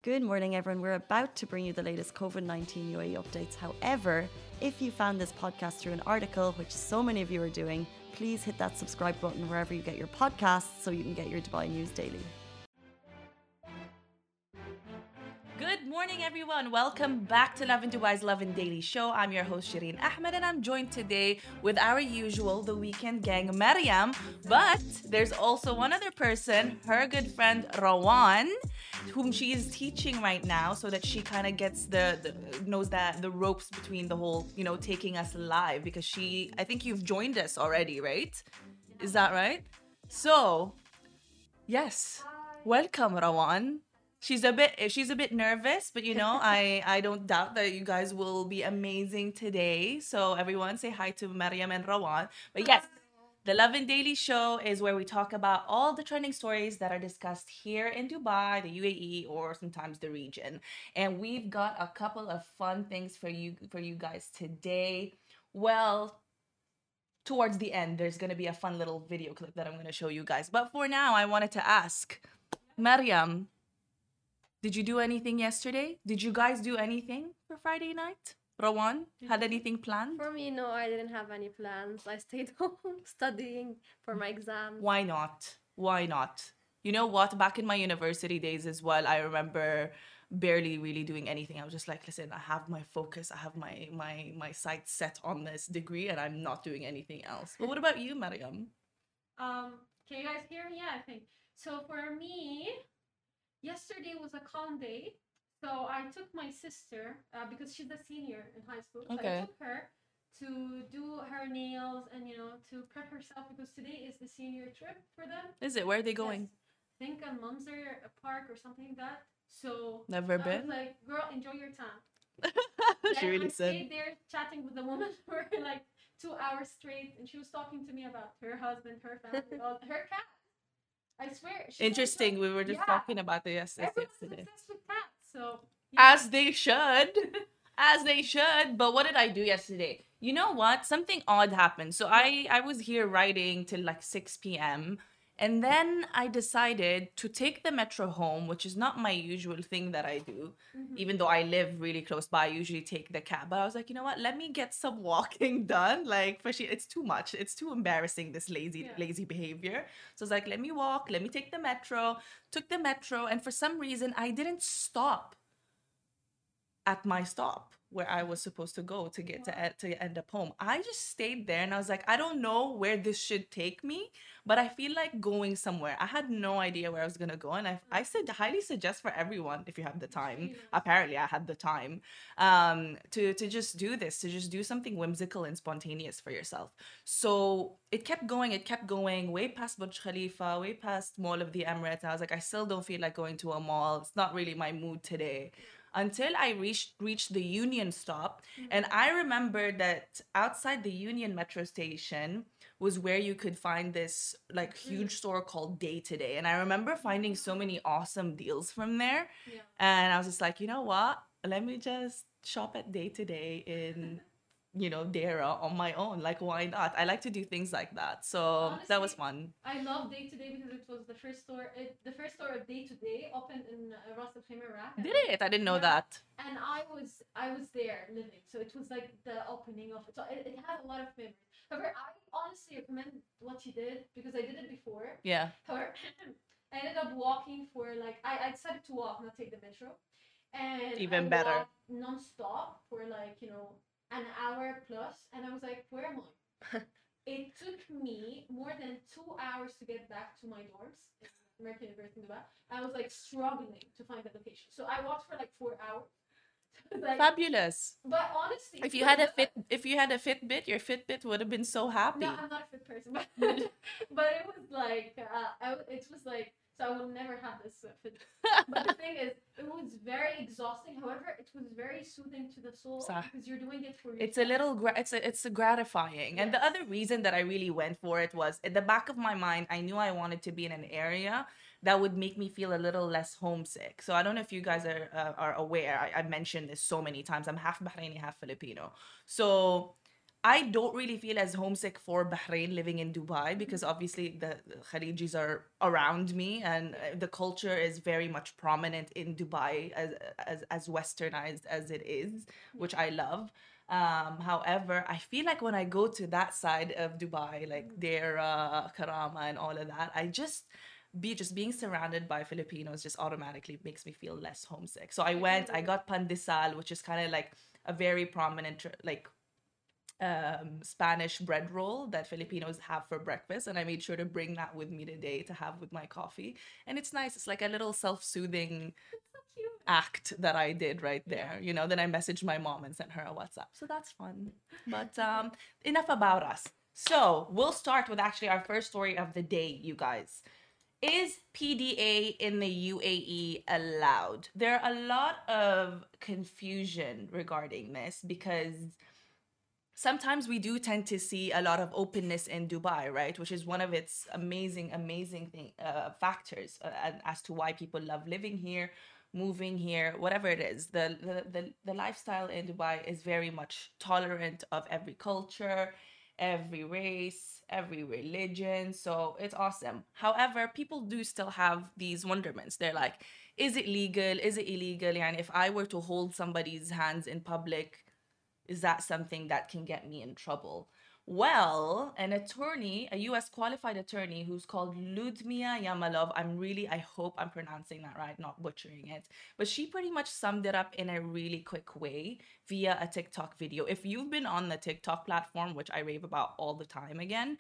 Good morning, everyone. We're about to bring you the latest COVID-19 UAE updates. However, if you found this podcast through an article, which so many of you are doing, please hit that subscribe button wherever you get your podcasts so you can get your Dubai news daily. Good morning, everyone. Welcome back to Lovin Dubai's Lovin Daily Show. I'm your host, Shireen Ahmed, and I'm joined today with our usual The Weekend gang, Mariam. But there's also one other person, her good friend, Rawan, whom she is teaching right now so that she kind of gets knows that the ropes between the whole, taking us live because I think you've joined us already, right? Is that right? So, yes. Welcome, Rawan. She's a bit nervous, but I don't doubt that you guys will be amazing today. So everyone say hi to Mariam and Rawan. But yes, the Love and Daily Show is where we talk about all the trending stories that are discussed here in Dubai, the UAE, or sometimes the region. And we've got a couple of fun things for you guys today. Well, towards the end, there's going to be a fun little video clip that I'm going to show you guys. But for now, I wanted to ask, Mariam, did you do anything yesterday? Did you guys do anything for Friday night? Rawan, had anything planned? For me, no, I didn't have any plans. I stayed home studying for my exams. Why not? Why not? You know what? Back in my university days as well, I remember barely really doing anything. I was just like, listen, I have my focus. I have my sights set on this degree and I'm not doing anything else. But what about you, Mariam? Can you guys hear me? Yeah, I think. So for me, yesterday was a calm day. So I took my sister, because she's a senior in high school. So Okay. I took her to do her nails and, to prep herself because today is the senior trip for them. Is it? Where are they going? Yes. I think a Munzer Park or something like that. So Never I was been? like, girl, enjoy your time. She really I said. stayed there chatting with the woman for like 2 hours straight, and she was talking to me about her husband, her family, her cat. I swear. Interesting. We were just talking about this Everyone's yesterday. obsessed with cats, so As they should. As they should. But what did I do yesterday? You know what? Something odd happened. So I was here writing till like 6 p.m. And then I decided to take the metro home, which is not my usual thing that I do. Even though I live really close by, I usually take the cab. But I was like, you know what? Let me get some walking done. Like, it's too much. It's too embarrassing, this lazy behavior. So I was like, let me walk. Let me take the metro. Took the metro. And for some reason, I didn't stop at my stop where I was supposed to go to get to end up home. I just stayed there and I was like, I don't know where this should take me, but I feel like going somewhere. I had no idea where I was gonna go, and I said highly suggest for everyone, if you have the time. Apparently, I had the time to just do this, to just do something whimsical and spontaneous for yourself. So it kept going, way past Burj Khalifa, way past Mall of the Emirates. And I was like, I still don't feel like going to a mall. It's not really my mood today. Until I reached the Union stop. And I remember that outside the Union metro station was where you could find this like huge store called Day to Day. And I remember finding so many awesome deals from there. Yeah. And I was just like, you know what? Let me just shop at Day to Day in Dara on my own. Like, why not? I like to do things like that. So that was fun. I love Day to Day because it was the first store. The first store of Day to Day opened in Ras Al Khaimah, Iraq. Did it? I didn't know that. And I was there living, so it was like the opening of it. So it had a lot of memories. However, I honestly recommend what you did because I did it before. Yeah. However, I ended up walking for like I decided to walk, not take the metro, and Even I better. walked non-stop for like an hour plus, and I was like, where am I? It took me more than 2 hours to get back to my dorms in American University in Dubai. I was like struggling to find the location, so I walked for like 4 hours. Like, fabulous. But honestly, if you had a Fitbit, your Fitbit would have been so happy. No, I'm not a fit person, but it was like it was like, so I will never have this fit. But the thing is, it was very exhausting. However, it was very soothing to the soul because you're doing it for yourself. It's a little it's gratifying. And the other reason that I really went for it was in the back of my mind, I knew I wanted to be in an area that would make me feel a little less homesick. So I don't know if you guys are aware. I mentioned this so many times. I'm half Bahraini, half Filipino. So I don't really feel as homesick for Bahrain living in Dubai because obviously the Khalijis are around me, and the culture is very much prominent in Dubai as westernized as it is, which I love. However, I feel like when I go to that side of Dubai, like their Karama and all of that, just being surrounded by Filipinos just automatically makes me feel less homesick. So I got pandesal, which is kind of like a very prominent like Spanish bread roll that Filipinos have for breakfast, and I made sure to bring that with me today to have with my coffee. And it's nice. It's like a little self-soothing act that I did right there. You know, then I messaged my mom and sent her a WhatsApp. So that's fun. But enough about us. So we'll start with actually our first story of the day, you guys. Is PDA in the UAE allowed? There are a lot of confusion regarding this because sometimes we do tend to see a lot of openness in Dubai, right? Which is one of its amazing factors as to why people love living here, moving here, whatever it is. The lifestyle in Dubai is very much tolerant of every culture, every race, every religion. So it's awesome. However, people do still have these wonderments. They're like, is it legal? Is it illegal? And if I were to hold somebody's hands in public, is that something that can get me in trouble? Well, an attorney, a US qualified attorney who's called Ludmila Yamalov, I hope I'm pronouncing that right, not butchering it, but she pretty much summed it up in a really quick way via a TikTok video. If you've been on the TikTok platform, which I rave about all the time again,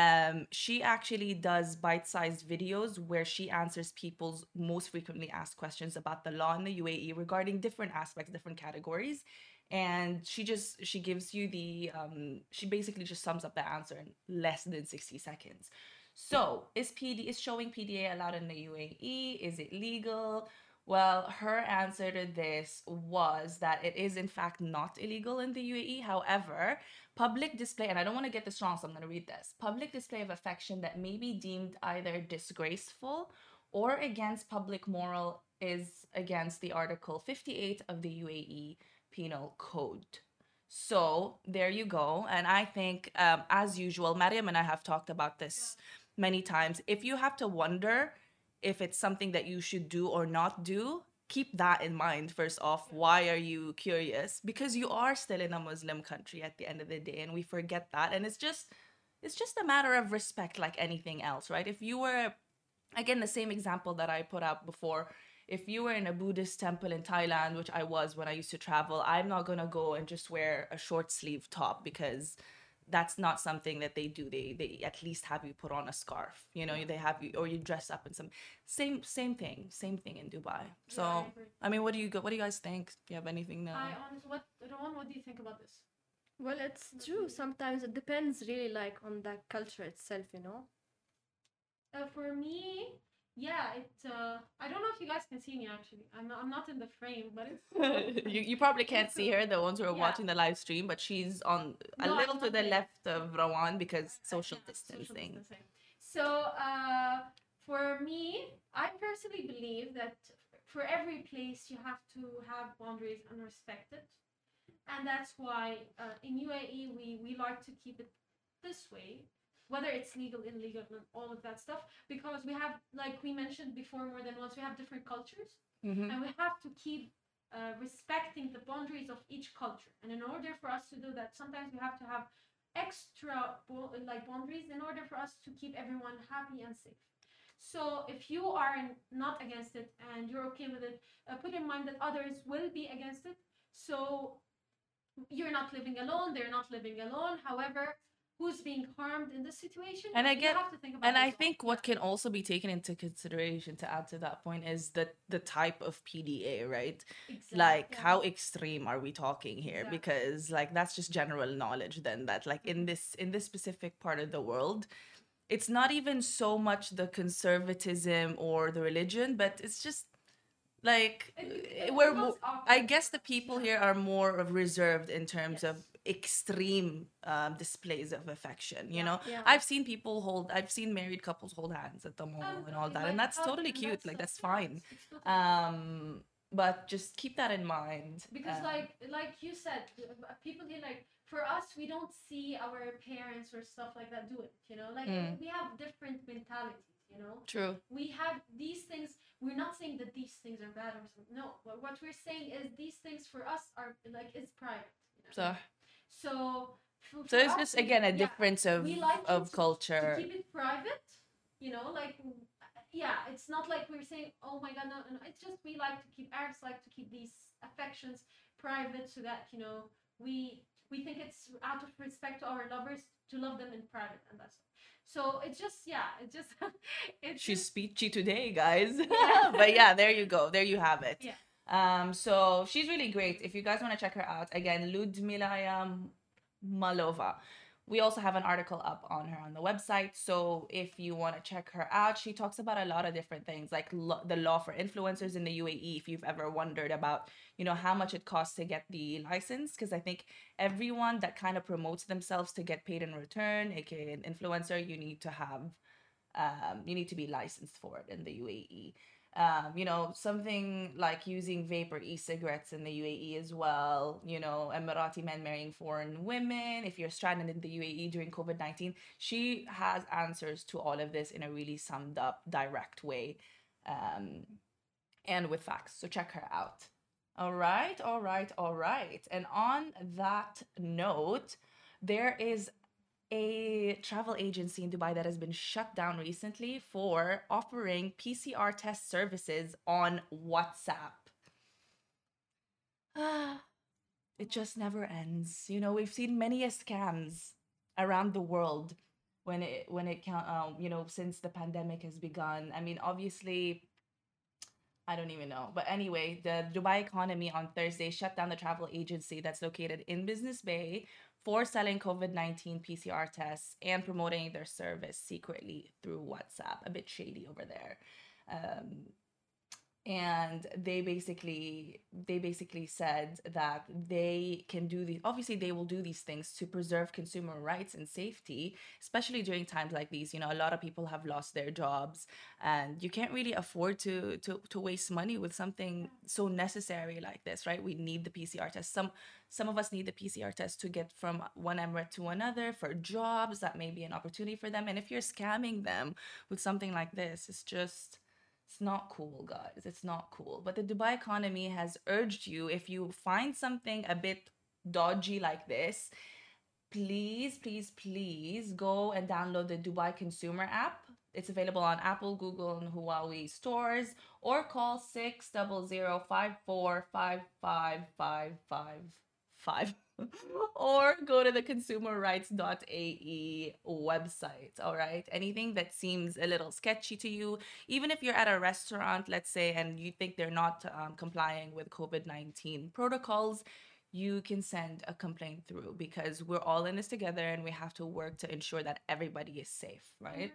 she actually does bite-sized videos where she answers people's most frequently asked questions about the law in the UAE regarding different aspects, different categories. And she gives you she basically just sums up the answer in less than 60 seconds. So is showing PDA allowed in the UAE? Is it legal? Well, her answer to this was that it is in fact not illegal in the UAE. However, public display, and I don't want to get this wrong, so I'm going to read this. Public display of affection that may be deemed either disgraceful or against public moral is against the Article 58 of the UAE Penal Code. So there you go. And I think, as usual, Mariam and I have talked about this many times. If you have to wonder if it's something that you should do or not do, keep that in mind first off. Why are you curious? Because you are still in a Muslim country at the end of the day, and we forget that. And it's just a matter of respect, like anything else, right? If you were, again, the same example that I put out before, if you were in a Buddhist temple in Thailand, which I was when I used to travel, I'm not going to go and just wear a short sleeve top because that's not something that they do. They at least have you put on a scarf, you know, they have you, or you dress up in some same thing in Dubai. So, I mean, what do you guys think? Do you have anything now? Rowan, what do you think about this? Well, it's true. Sometimes it depends really like on the culture itself, you know. For me, yeah, I don't know if you guys can see me actually. I'm not in the frame, but it's you probably can't see her, the ones who are watching the live stream, but she's on a little to the left of Rawan because social distancing. So, for me, I personally believe that for every place you have to have boundaries and respect it. And that's why in UAE we like to keep it this way, whether it's legal, illegal, and all of that stuff, because we have, like we mentioned before more than once, we have different cultures, and we have to keep respecting the boundaries of each culture. And in order for us to do that, sometimes we have to have extra boundaries in order for us to keep everyone happy and safe. So if you are not against it and you're okay with it, put in mind that others will be against it. So you're not living alone, they're not living alone. However, who's being harmed in this situation? And you have to think about and I think what can also be taken into consideration to add to that point is the type of PDA, right? Exactly. Like how extreme are we talking here? Exactly. Because like that's just general knowledge then that like in this specific part of the world, it's not even so much the conservatism or the religion, but it's just like I guess the people here are more reserved in terms of extreme displays of affection, you know. I've seen married couples hold hands at the mall and all that, and that's totally cute, like that's fine. But just keep that in mind, because like you said, people here, like for us, we don't see our parents or stuff like that do it, like we have different mentalities. True. We have these things. We're not saying that these things are bad or something. No, but what we're saying is these things for us are like it's private. So So so it's just again a difference we like of to culture. keep it private. Like it's not like we're saying, oh my god, no, no. It's just we like to keep Arabs like to keep these affections private so that we think it's out of respect to our lovers to love them in private, and that's so it's just it's She's just, speechy today, guys. Yeah. But yeah, there you go. There you have it. Yeah. So she's really great. If you guys want to check her out, again, Ludmila Malova. We also have an article up on her on the website. So if you want to check her out, she talks about a lot of different things, like the law for influencers in the UAE. If you've ever wondered about, how much it costs to get the license, because I think everyone that kind of promotes themselves to get paid in return, aka an influencer, you need to have, you need to be licensed for it in the UAE. Something like using vape or e-cigarettes in the UAE as well, Emirati men marrying foreign women, if you're stranded in the UAE during COVID-19. She has answers to all of this in a really summed up, direct way, and with facts. So check her out. All right. And on that note, there is a travel agency in Dubai that has been shut down recently for offering PCR test services on WhatsApp. It just never ends. We've seen many scams around the world when it since the pandemic has begun. I mean, obviously, I don't even know. But anyway, the Dubai Economy on Thursday shut down the travel agency that's located in Business Bay for selling COVID-19 PCR tests and promoting their service secretly through WhatsApp. A bit shady over there. And they basically said that they can do these, obviously they will do these things to preserve consumer rights and safety, especially during times like these. A lot of people have lost their jobs, and you can't really afford to waste money with something so necessary like this, right? We need the PCR test. Some of us need the PCR test to get from one emirate to another for jobs. That may be an opportunity for them. And if you're scamming them with something like this, it's not cool, guys. It's not cool. But the Dubai Economy has urged you, if you find something a bit dodgy like this, please go and download the Dubai Consumer app. It's available on Apple, Google, and Huawei stores, or call 600-54555555 or go to the consumerrights.ae website. All right. Anything that seems a little sketchy to you, even if you're at a restaurant, let's say, and you think they're not complying with COVID-19 protocols, you can send a complaint through, because we're all in this together and we have to work to ensure that everybody is safe, right?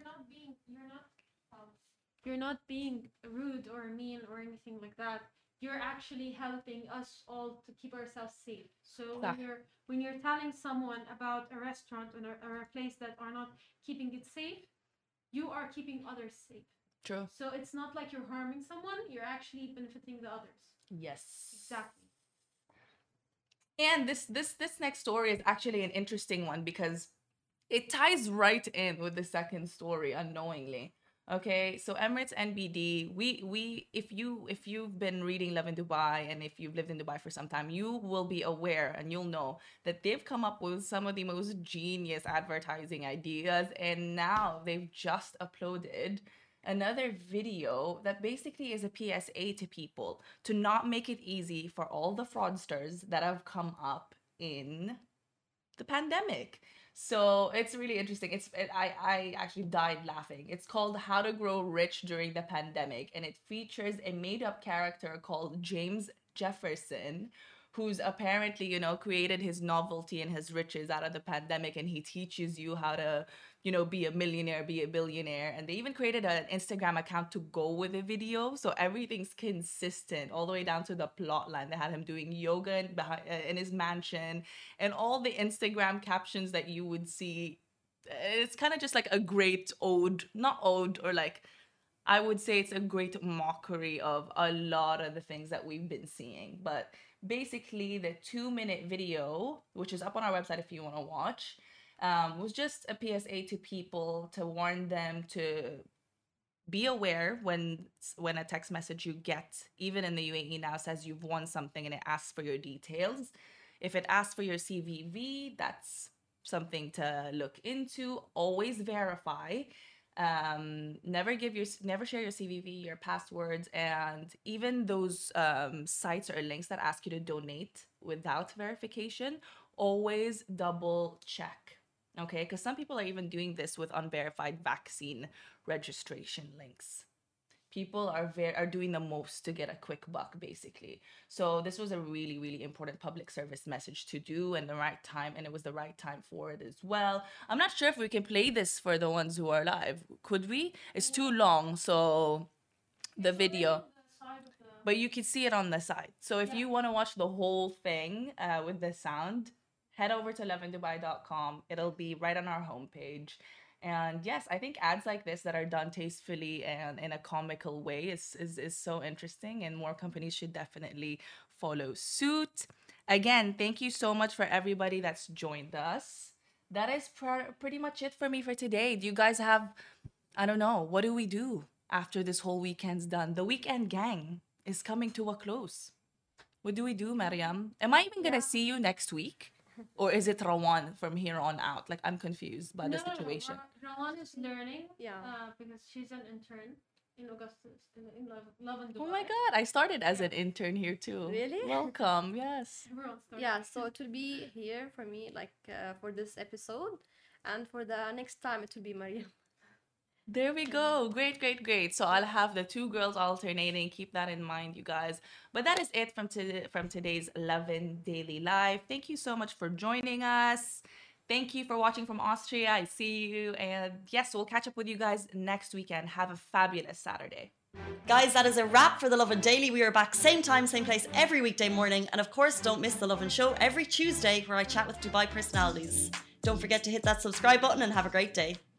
You're not being rude or mean or anything like that. You're actually helping us all to keep ourselves safe. So when you're telling someone about a restaurant or a place that are not keeping it safe, you are keeping others safe. True. So it's not like you're harming someone, you're actually benefiting the others. Yes. Exactly. And this next story is actually an interesting one, because it ties right in with the second story unknowingly. Okay, so Emirates NBD, we if you've been reading Love in Dubai, and if you've lived in Dubai for some time, you will be aware and you'll know that they've come up with some of the most genius advertising ideas, and now they've just uploaded another video that basically is a PSA to people to not make it easy for all the fraudsters that have come up in the pandemic. So it's really interesting. I actually died laughing. It's called How to Grow Rich During the Pandemic, and it features a made-up character called James Jefferson, who's apparently, created his novelty and his riches out of the pandemic, and he teaches you how to, be a millionaire, be a billionaire. And they even created an Instagram account to go with the video, so everything's consistent all the way down to the plot line. They had him doing yoga in his mansion, and all the Instagram captions that you would see. It's kind of just like a great ode, not ode, or like I would say it's a great mockery of a lot of the things that we've been seeing. But basically, the 2-minute video, which is up on our website if you want to watch, was just a PSA to people to warn them to be aware when a text message you get, even in the UAE now, says you've won something and it asks for your details. If it asks for your CVV, that's something to look into. Always verify. Never share your CVV, your passwords, and even those sites or links that ask you to donate without verification. Always double check. Okay, because some people are even doing this with unverified vaccine registration links. People are doing the most to get a quick buck, basically. So this was a really, really important public service message to do in the right time, and it was the right time for it as well. I'm not sure if we can play this for the ones who are live. Could we? It's too long, so the video. But you can see it on the side. So if you want to watch the whole thing with the sound, head over to lovindubai.com. It'll be right on our homepage. And yes, I think ads like this that are done tastefully and in a comical way is so interesting, and more companies should definitely follow suit. Again, thank you so much for everybody that's joined us. That is pretty much it for me for today. Do you guys have, I don't know, what do we do after this whole weekend's done? The weekend gang is coming to a close. What do we do, Mariam? Am I even going to see you next week? Or is it Rawan from here on out? Like, I'm confused by the situation. No, Rawan is learning. Yeah. Because she's an intern in Augustus, in Love and Dubai. Oh my God, I started as an intern here too. Really? Welcome, yes. Everyone started. Yeah, so it will be here for me, like for this episode. And for the next time, it will be Mariam. There we go. Great, great, great. So I'll have the two girls alternating. Keep that in mind, you guys. But that is it from today's Lovin Daily Live. Thank you so much for joining us. Thank you for watching from Austria. I see you. And yes, we'll catch up with you guys next weekend. Have a fabulous Saturday. Guys, that is a wrap for the Lovin Daily. We are back same time, same place every weekday morning. And of course, don't miss the Lovin Show every Tuesday where I chat with Dubai personalities. Don't forget to hit that subscribe button and have a great day.